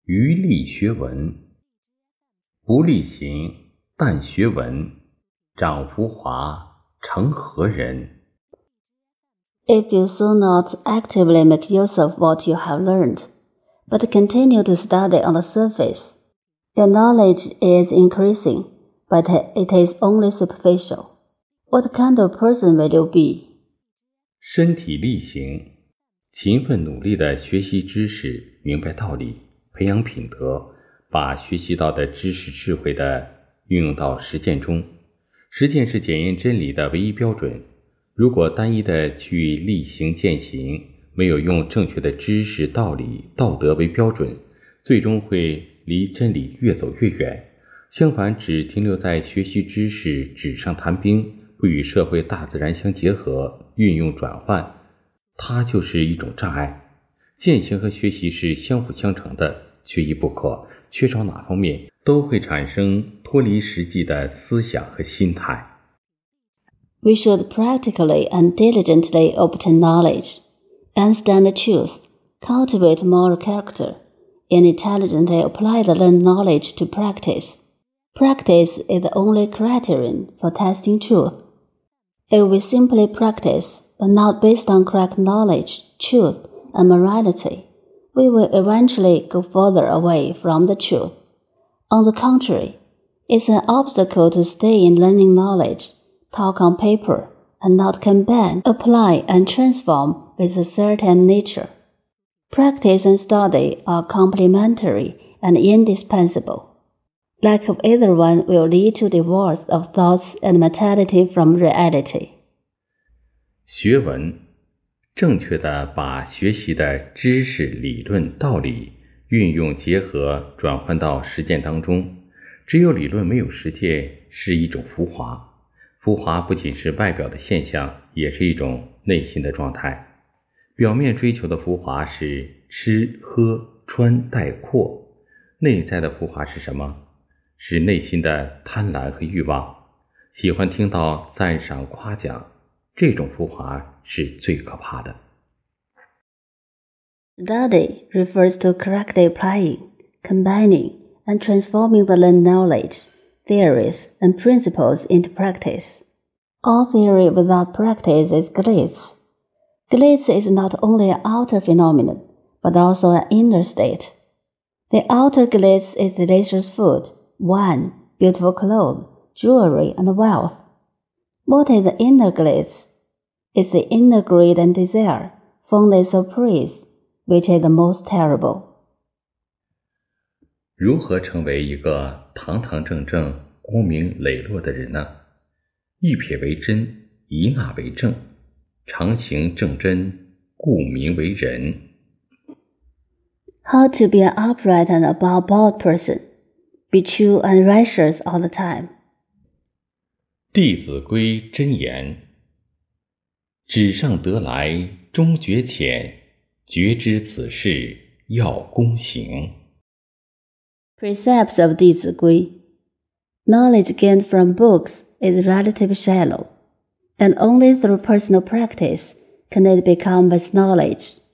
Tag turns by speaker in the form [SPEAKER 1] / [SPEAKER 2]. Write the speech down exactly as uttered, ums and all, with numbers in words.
[SPEAKER 1] 余力学文，不力行，但学文，长浮华，成何人？
[SPEAKER 2] If you do not actively make use of what you have learned, but continue to study on the surface, your knowledge is increasing, but it is only superficial. What kind of person will you be?
[SPEAKER 1] 身体力行，勤奋努力地学习知识，明白道理，培养品德，把学习到的知识智慧的运用到实践中。实践是检验真理的唯一标准。如果单一的去力行践行，没有用正确的知识、道理、道德为标准，最终会离真理越走越远。相反，只停留在学习知识、纸上谈兵，不与社会大自然相结合、运用转换，它就是一种障碍。践行和学习是相辅相成的，缺一不可，缺少哪方面都会产生脱离实际的思想和心态。
[SPEAKER 2] We should practically and diligently obtain knowledge, understand the truth, cultivate moral character, and intelligently apply the learned knowledge to practice. Practice is the only criterion for testing truth. If we simply practice, but not based on correct knowledge, truth, and morality, we will eventually go further away from the truth. On the contrary, it's an obstacle to stay in learning knowledge, talk on paper, and not combine, apply, and transform with a certain nature. Practice and study are complementary and indispensable. Lack of either one will lead to divorce of thoughts and mentality from reality.
[SPEAKER 1] 学文，正确地把学习的知识、理论、道理运用结合转换到实践当中。只有理论没有实践是一种浮华。浮华不仅是外表的现象，也是一种内心的状态。表面追求的浮华是吃喝穿戴阔，内在的浮华是什么？是内心的贪婪和欲望，喜欢听到赞赏夸奖，这种浮华是最可怕的。
[SPEAKER 2] Study refers to correctly applying, combining, and transforming the learned knowledge, theories, and principles into practice. All theory without practice is glitz. Glitz is not only an outer phenomenon, but also an inner state. The outer glitz is delicious food, wine, beautiful clothes, jewelry, and wealth. What is the inner glitz? It's the inner greed and desire, fondness of praise, which is the most terrible.
[SPEAKER 1] 如何成为一个堂堂正正、光明磊落的人呢？一撇为真，一纳为正，常行正真，故名为人。
[SPEAKER 2] How to be an upright and above-board person? Be true and righteous all the time.
[SPEAKER 1] 弟子规真言：纸上得来终觉浅，觉知此事要躬行。
[SPEAKER 2] Precepts of 弟子规: Knowledge gained from books is relatively shallow, and only through personal practice can it become as knowledge.